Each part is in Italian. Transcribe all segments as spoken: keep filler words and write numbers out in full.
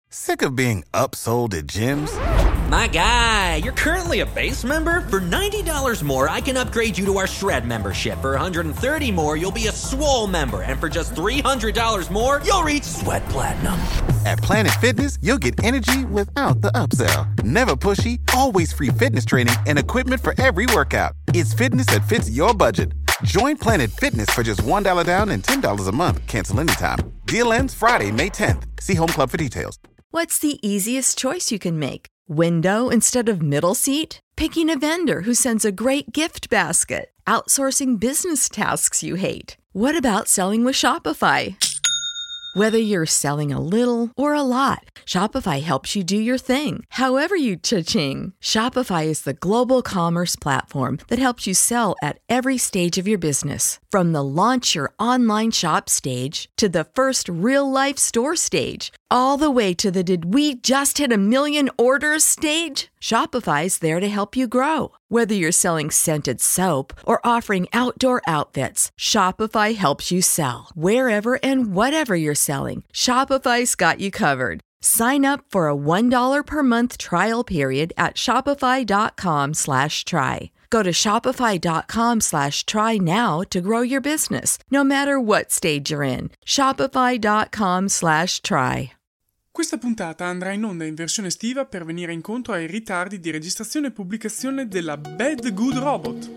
Sick of being upsold at gyms? My guy, you're currently a base member? For ninety dollars more, I can upgrade you to our Shred membership. For one hundred thirty dollars more, you'll be a Swole member. And for just three hundred dollars more, you'll reach Sweat Platinum. At Planet Fitness, you'll get energy without the upsell. Never pushy, always free fitness training and equipment for every workout. It's fitness that fits your budget. Join Planet Fitness for just one dollar down and ten dollars a month. Cancel anytime. Deal ends Friday, May tenth. See Home Club for details. What's the easiest choice you can make? Window instead of middle seat? Picking a vendor who sends a great gift basket? Outsourcing business tasks you hate? What about selling with Shopify? Whether you're selling a little or a lot, Shopify helps you do your thing, however you cha-ching. Shopify is the global commerce platform that helps you sell at every stage of your business. From the launch your online shop stage to the first real-life store stage, all the way to the did we just hit a million orders stage. Shopify's there to help you grow. Whether you're selling scented soap or offering outdoor outfits, Shopify helps you sell. Wherever and whatever you're selling, Shopify's got you covered. Sign up for a one dollar per month trial period at shopify.com slash try. Go to shopify.com slash try now to grow your business, no matter what stage you're in. Shopify.com slash try. Questa puntata andrà in onda in versione estiva per venire incontro ai ritardi di registrazione e pubblicazione della Bad Good Robot.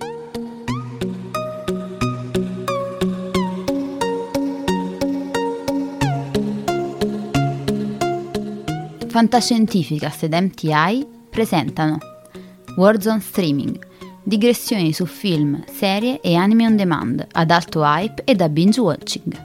Fantascientificast ed M T I presentano Warzone Streaming, digressioni su film, serie e anime on demand ad alto hype e da binge watching.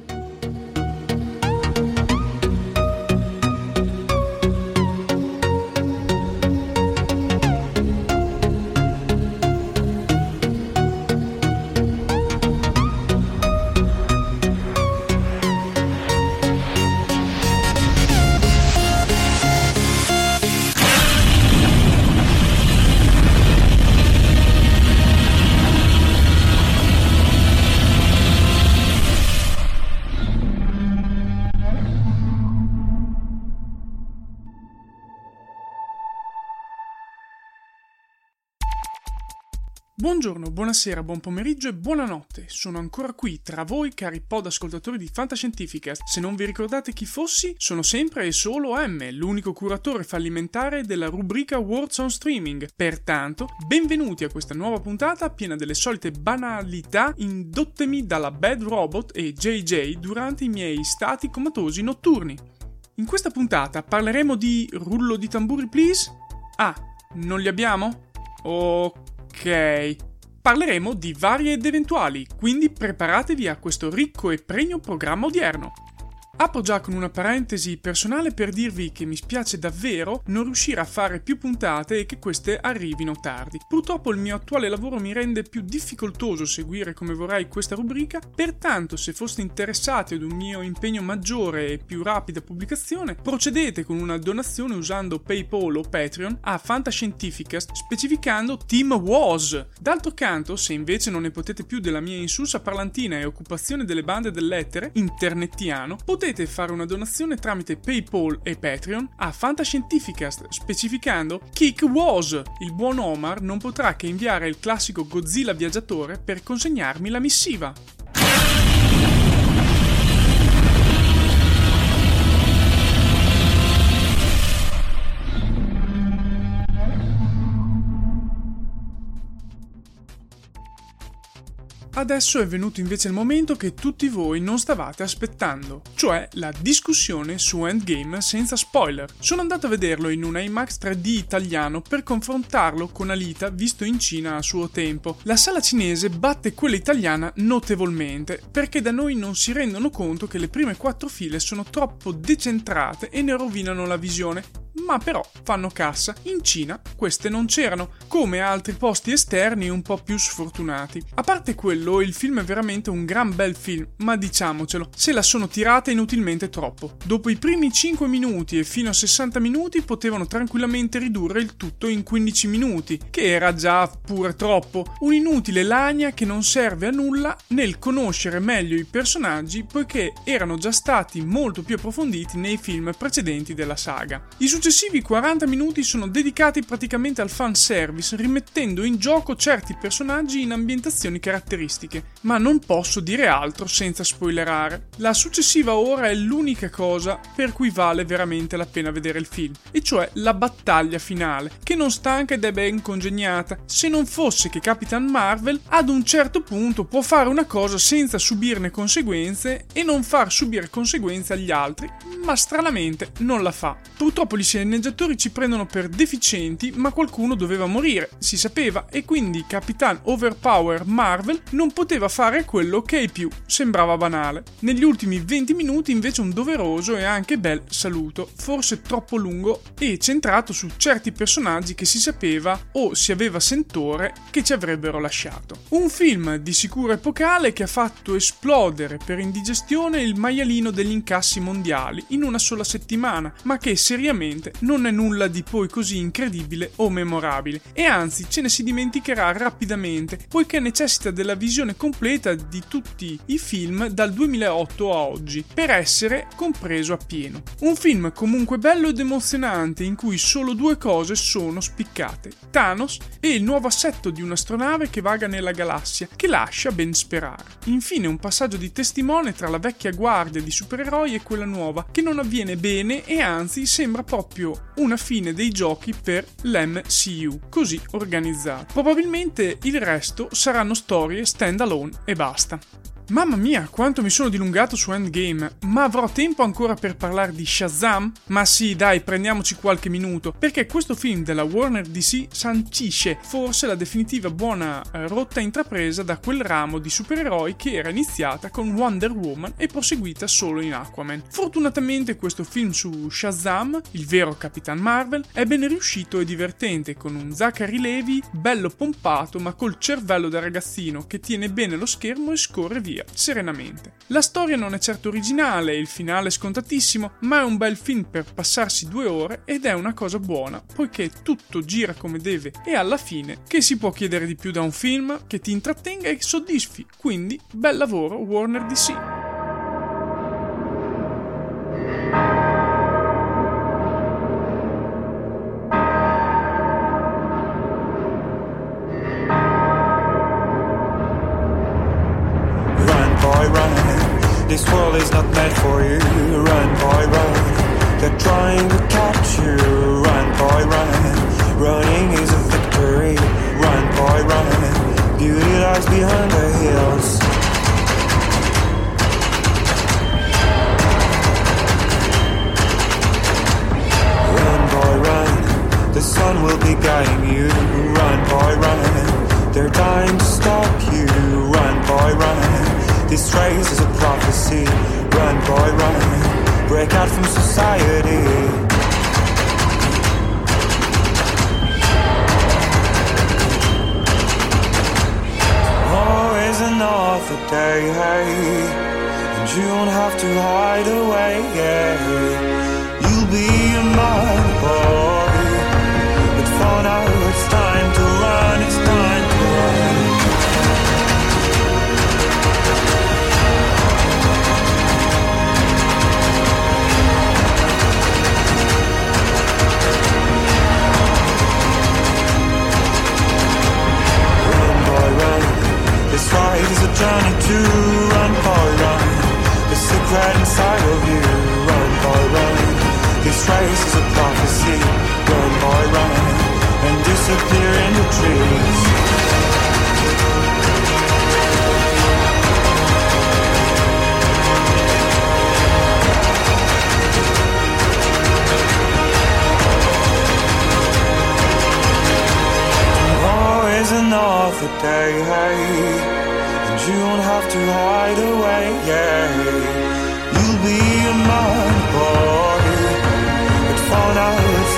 Buongiorno, buonasera, buon pomeriggio e buonanotte. Sono ancora qui tra voi, cari pod ascoltatori di Fantascientificast. Se non vi ricordate chi fossi, sono sempre e solo M, l'unico curatore fallimentare della rubrica Warzone Streaming. Pertanto, benvenuti a questa nuova puntata piena delle solite banalità indottemi dalla Bad Robot e J J durante i miei stati comatosi notturni. In questa puntata parleremo di rullo di tamburi please? Ah, non li abbiamo? Ok. Parleremo di varie ed eventuali, quindi preparatevi a questo ricco e pregno programma odierno. Apro già con una parentesi personale per dirvi che mi spiace davvero non riuscire a fare più puntate e che queste arrivino tardi. Purtroppo il mio attuale lavoro mi rende più difficoltoso seguire come vorrei questa rubrica, pertanto se foste interessati ad un mio impegno maggiore e più rapida pubblicazione, procedete con una donazione usando PayPal o Patreon a Fantascientificast specificando Team Was. D'altro canto, se invece non ne potete più della mia insulsa parlantina e occupazione delle bande dell'etere internettiano, potete Potete fare una donazione tramite PayPal e Patreon a Fantascientificast specificando Kick Was. Il buon Omar non potrà che inviare il classico Godzilla viaggiatore per consegnarmi la missiva. Adesso è venuto invece il momento che tutti voi non stavate aspettando, cioè la discussione su Endgame senza spoiler. Sono andato a vederlo in un IMAX tre D italiano per confrontarlo con Alita visto in Cina a suo tempo. La sala cinese batte quella italiana notevolmente, perché da noi non si rendono conto che le prime quattro file sono troppo decentrate e ne rovinano la visione. ma però fanno cassa. In Cina queste non c'erano, come altri posti esterni un po' più sfortunati. A parte quello, il film è veramente un gran bel film, ma diciamocelo, se la sono tirata inutilmente troppo. Dopo i primi cinque minuti e fino a sessanta minuti potevano tranquillamente ridurre il tutto in quindici minuti, che era già pure troppo. Un'inutile lagna che non serve a nulla nel conoscere meglio i personaggi, poiché erano già stati molto più approfonditi nei film precedenti della saga. I successivi quaranta minuti sono dedicati praticamente al fanservice, rimettendo in gioco certi personaggi in ambientazioni caratteristiche, ma non posso dire altro senza spoilerare. La successiva ora è l'unica cosa per cui vale veramente la pena vedere il film, e cioè la battaglia finale, che non stanca ed è ben congegnata, se non fosse che Capitan Marvel ad un certo punto può fare una cosa senza subirne conseguenze e non far subire conseguenze agli altri, ma stranamente non la fa. Purtroppo gli sceneggiatori ci prendono per deficienti, ma qualcuno doveva morire, si sapeva, e quindi Capitan Overpower Marvel non poteva fare quello che ai più sembrava banale. Negli ultimi venti minuti invece un doveroso e anche bel saluto, forse troppo lungo e centrato su certi personaggi che si sapeva o si aveva sentore che ci avrebbero lasciato. Un film di sicuro epocale che ha fatto esplodere per indigestione il maialino degli incassi mondiali in una sola settimana, ma che seriamente non è nulla di poi così incredibile o memorabile, e anzi ce ne si dimenticherà rapidamente, poiché necessita della visione completa di tutti i film dal duemilaotto a oggi per essere compreso appieno. Un film comunque bello ed emozionante, in cui solo due cose sono spiccate: Thanos e il nuovo assetto di un'astronave che vaga nella galassia, che lascia ben sperare. Infine un passaggio di testimone tra la vecchia guardia di supereroi e quella nuova, che non avviene bene e anzi sembra proprio una fine dei giochi per l'M C U, così organizzato. Probabilmente il resto saranno storie stand alone e basta. Mamma mia, quanto mi sono dilungato su Endgame, ma avrò tempo ancora per parlare di Shazam? Ma sì, dai, prendiamoci qualche minuto, perché questo film della Warner D C sancisce forse la definitiva buona eh, rotta intrapresa da quel ramo di supereroi che era iniziata con Wonder Woman e proseguita solo in Aquaman. Fortunatamente questo film su Shazam, il vero Capitan Marvel, è ben riuscito e divertente, con un Zachary Levi bello pompato ma col cervello da ragazzino che tiene bene lo schermo e scorre via serenamente. La storia non è certo originale, il finale è scontatissimo, ma è un bel film per passarsi due ore ed è una cosa buona, poiché tutto gira come deve e alla fine che si può chiedere di più da un film che ti intrattenga e soddisfi, quindi bel lavoro Warner D C. This world is not meant for you. Run, boy, run. They're trying to catch you. Run, boy, run. Running is a victory. Run, boy, run. Beauty lies behind the hills. Run, boy, run. The sun will be guiding you. Run, boy, run. They're dying to stop you. Run, boy, run. This race is a prophecy. Run, boy, run. Break out from society. Oh, is another day, hey, and you don't have to hide away, yeah. You'll be a man, boy, but for now it's time to run, it's time to run. This fight is a journey to run, boy, run. The secret inside of you, run, boy, run. This race is a prophecy, run, boy, run, and disappear in the trees. Always another day, hey, and you don't have to hide away, yeah. You'll be a man, boy, but for now it's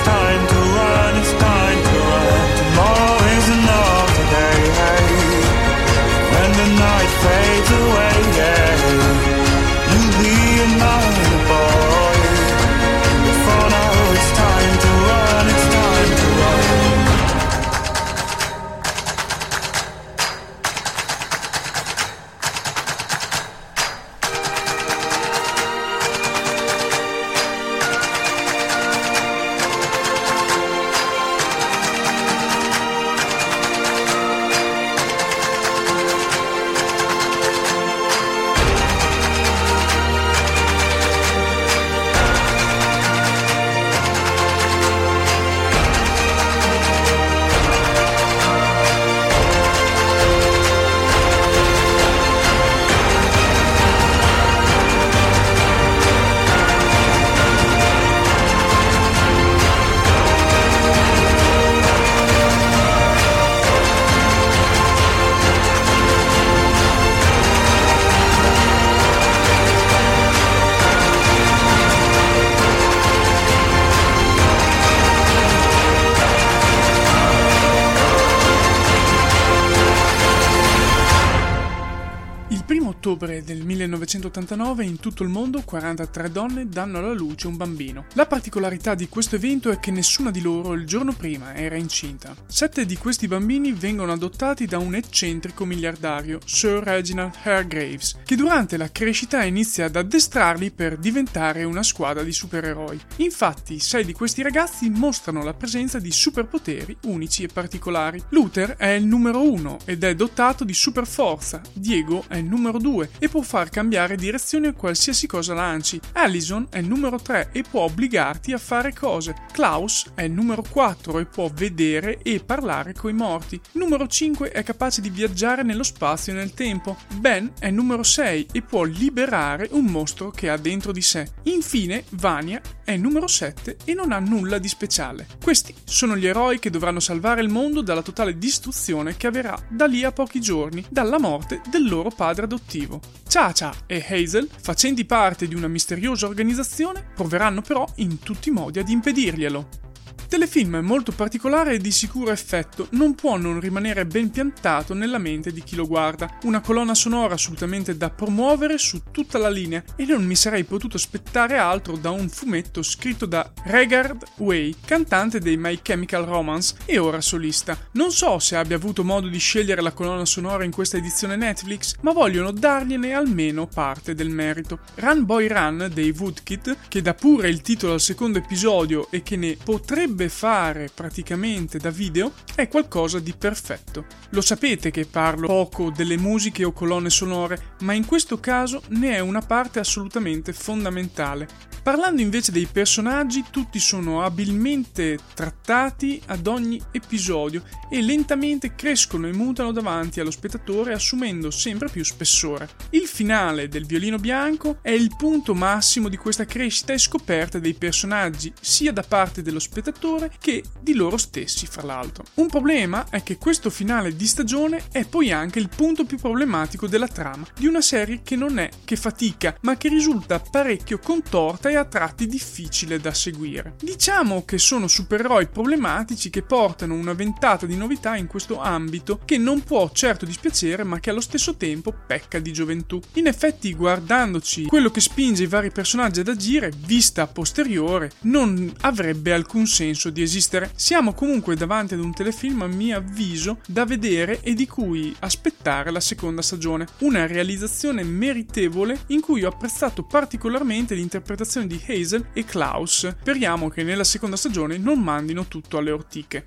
ottobre del millenovecentottantanove in tutto il mondo quarantatré donne danno alla luce un bambino. La particolarità di questo evento è che nessuna di loro il giorno prima era incinta. Sette di questi bambini vengono adottati da un eccentrico miliardario, Sir Reginald Hargreaves, che durante la crescita inizia ad addestrarli per diventare una squadra di supereroi. Infatti, sei di questi ragazzi mostrano la presenza di superpoteri unici e particolari. Luther è il numero uno ed è dotato di superforza. Diego è il numero due e può far cambiare direzione a qualsiasi cosa lanci. Allison è il numero tre e può obbligarti a fare cose. Klaus è il numero quattro e può vedere e parlare coi morti. Numero cinque è capace di viaggiare nello spazio e nel tempo. Ben è il numero sei e può liberare un mostro che ha dentro di sé. Infine, Vania è il numero sette e non ha nulla di speciale. Questi sono gli eroi che dovranno salvare il mondo dalla totale distruzione che avverrà da lì a pochi giorni, dalla morte del loro padre adottivo. Cha-Cha e Hazel, facenti parte di una misteriosa organizzazione, proveranno però in tutti i modi ad impedirglielo. Telefilm molto particolare e di sicuro effetto, non può non rimanere ben piantato nella mente di chi lo guarda. Una colonna sonora assolutamente da promuovere su tutta la linea e non mi sarei potuto aspettare altro da un fumetto scritto da Regard Way, cantante dei My Chemical Romance e ora solista. Non so se abbia avuto modo di scegliere la colonna sonora in questa edizione Netflix, ma vogliono dargliene almeno parte del merito. Run Boy Run dei Woodkid, che dà pure il titolo al secondo episodio e che ne potrebbe fare praticamente da video, è qualcosa di perfetto. Lo sapete che parlo poco delle musiche o colonne sonore, ma in questo caso ne è una parte assolutamente fondamentale. Parlando invece dei personaggi, tutti sono abilmente trattati ad ogni episodio e lentamente crescono e mutano davanti allo spettatore, assumendo sempre più spessore. Il finale del Violino Bianco è il punto massimo di questa crescita e scoperta dei personaggi, sia da parte dello spettatore che di loro stessi, fra l'altro. Un problema è che questo finale di stagione è poi anche il punto più problematico della trama di una serie che non è che fatica, ma che risulta parecchio contorta e a tratti difficile da seguire. Diciamo che sono supereroi problematici che portano una ventata di novità in questo ambito che non può certo dispiacere, ma che allo stesso tempo pecca di gioventù. In effetti, guardandoci quello che spinge i vari personaggi ad agire, vista a posteriore, non avrebbe alcun senso di esistere. Siamo comunque davanti ad un telefilm, a mio avviso, da vedere e di cui aspettare la seconda stagione. Una realizzazione meritevole in cui ho apprezzato particolarmente l'interpretazione di Hazel e Klaus. Speriamo che nella seconda stagione non mandino tutto alle ortiche.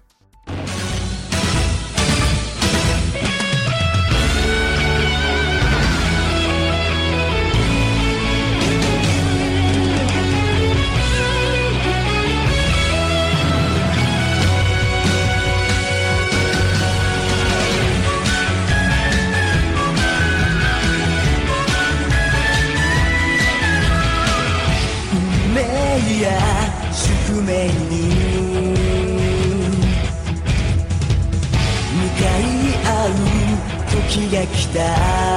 宿命に向かい合う時が来た。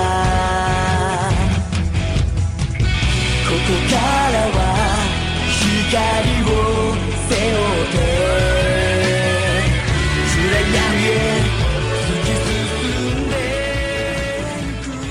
ここからは光を背負って暗闇へ突き進んでゆく。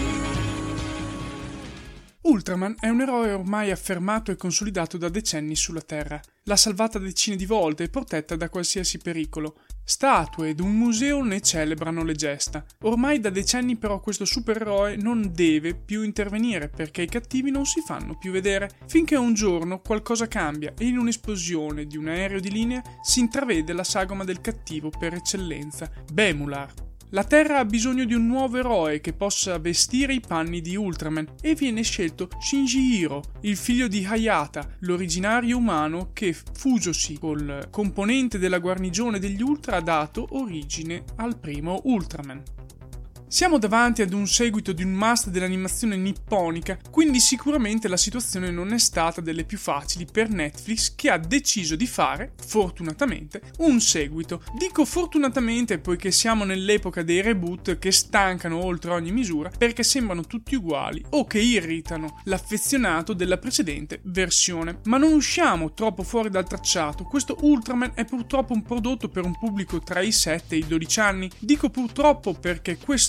Ultraman è un eroe ormai affermato e consolidato da decenni sulla Terra. L'ha salvata decine di volte e protetta da qualsiasi pericolo. Statue ed un museo ne celebrano le gesta. Ormai da decenni però questo supereroe non deve più intervenire perché i cattivi non si fanno più vedere, finché un giorno qualcosa cambia e in un'esplosione di un aereo di linea si intravede la sagoma del cattivo per eccellenza, Bemular. La Terra ha bisogno di un nuovo eroe che possa vestire i panni di Ultraman e viene scelto Shinjihiro, il figlio di Hayata, l'originario umano che, fusosi col componente della guarnigione degli Ultra, ha dato origine al primo Ultraman. Siamo davanti ad un seguito di un must dell'animazione nipponica, quindi sicuramente la situazione non è stata delle più facili per Netflix, che ha deciso di fare, fortunatamente, un seguito. Dico fortunatamente poiché siamo nell'epoca dei reboot che stancano oltre ogni misura perché sembrano tutti uguali o che irritano l'affezionato della precedente versione. Ma non usciamo troppo fuori dal tracciato, questo Ultraman è purtroppo un prodotto per un pubblico tra i sette e i dodici anni. Dico purtroppo perché questo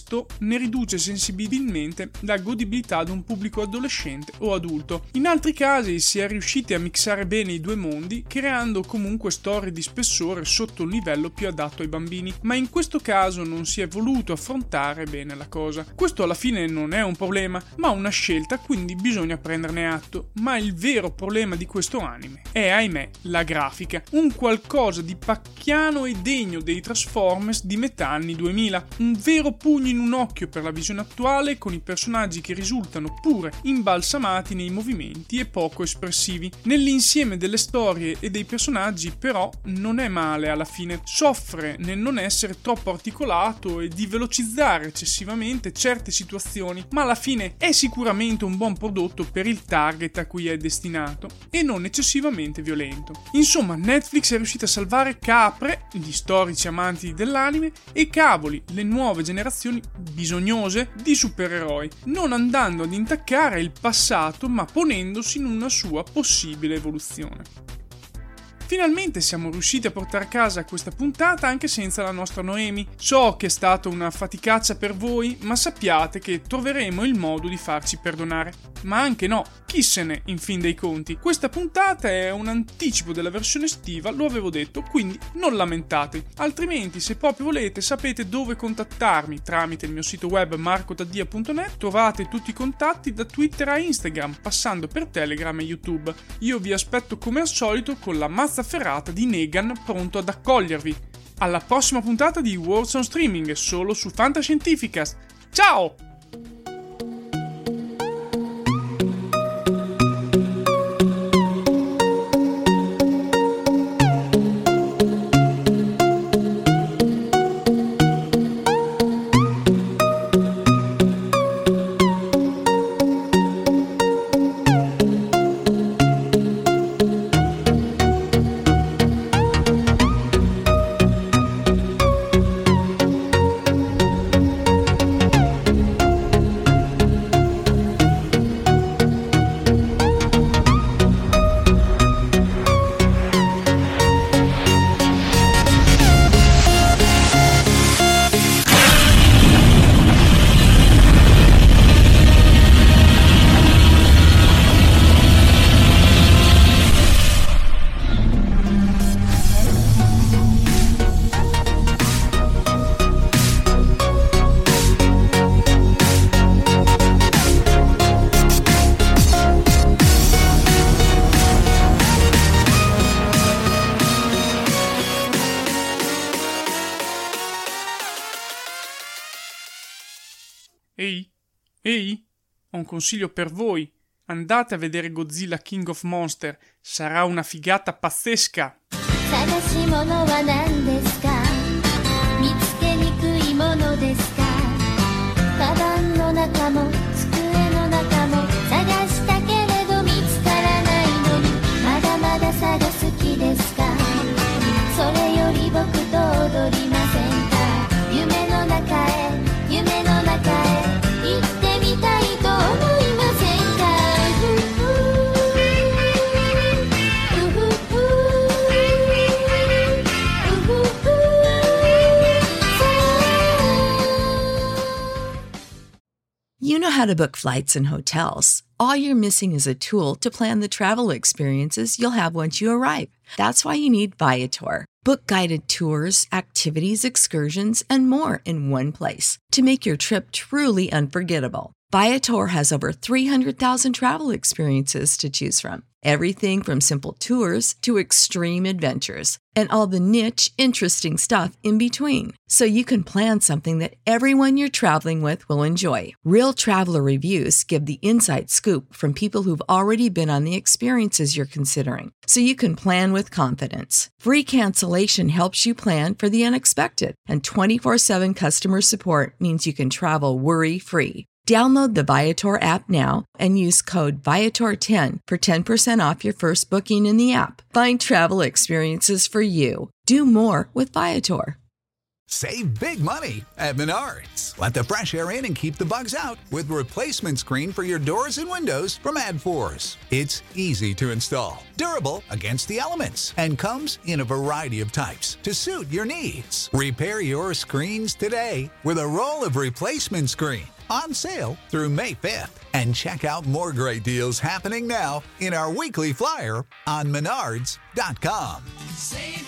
questo ne riduce sensibilmente la godibilità ad un pubblico adolescente o adulto. In altri casi si è riusciti a mixare bene i due mondi, creando comunque storie di spessore sotto un livello più adatto ai bambini, ma in questo caso non si è voluto affrontare bene la cosa. Questo alla fine non è un problema, ma una scelta, quindi bisogna prenderne atto. Ma il vero problema di questo anime è, ahimè, la grafica, un qualcosa di pacchiano e degno dei Transformers di metà anni duemila, un vero pugno in un occhio per la visione attuale, con i personaggi che risultano pure imbalsamati nei movimenti e poco espressivi. Nell'insieme delle storie e dei personaggi però non è male alla fine, soffre nel non essere troppo articolato e di velocizzare eccessivamente certe situazioni, ma alla fine è sicuramente un buon prodotto per il target a cui è destinato e non eccessivamente violento. Insomma, Netflix è riuscita a salvare capre, gli storici amanti dell'anime, e cavoli, le nuove generazioni bisognose di supereroi, non andando ad intaccare il passato ma ponendosi in una sua possibile evoluzione. Finalmente siamo riusciti a portare a casa questa puntata anche senza la nostra Noemi. So che è stata una faticaccia per voi, ma sappiate che troveremo il modo di farci perdonare. Ma anche no, chi se ne, in fin dei conti. Questa puntata è un anticipo della versione estiva, lo avevo detto, quindi non lamentate. Altrimenti, se proprio volete, sapete dove contattarmi tramite il mio sito web marco taddia punto net. Trovate tutti i contatti da Twitter a Instagram, passando per Telegram e YouTube. Io vi aspetto come al solito con la mazza ferrata di Negan pronto ad accogliervi. Alla prossima puntata di Words on Streaming, solo su Fantascientificast. Ciao! Ehi, ehi, ho un consiglio per voi. Andate a vedere Godzilla King of Monster, sarà una figata pazzesca. 探し物は何ですか見つけにくいものですかカバンの中も机の中も探したけれど見つからないのにまだまだ探す気ですかそれより僕と踊りませんか夢の中へ夢の中へ行ってみたいと思いませんか You know how to book flights and hotels. All you're missing is a tool to plan the travel experiences you'll have once you arrive. That's why you need Viator. Book guided tours, activities, excursions, and more in one place to make your trip truly unforgettable. Viator has over three hundred thousand travel experiences to choose from. Everything from simple tours to extreme adventures and all the niche, interesting stuff in between. So you can plan something that everyone you're traveling with will enjoy. Real traveler reviews give the inside scoop from people who've already been on the experiences you're considering. So you can plan with confidence. Free cancellation helps you plan for the unexpected. And twenty-four seven customer support means you can travel worry-free. Download the Viator app now and use code Viator ten for ten percent off your first booking in the app. Find travel experiences for you. Do more with Viator. Save big money at Menards. Let the fresh air in and keep the bugs out with replacement screen for your doors and windows from Adforce. It's easy to install, durable against the elements, and comes in a variety of types to suit your needs. Repair your screens today with a roll of replacement screen on sale through May fifth. And check out more great deals happening now in our weekly flyer on menards dot com. Save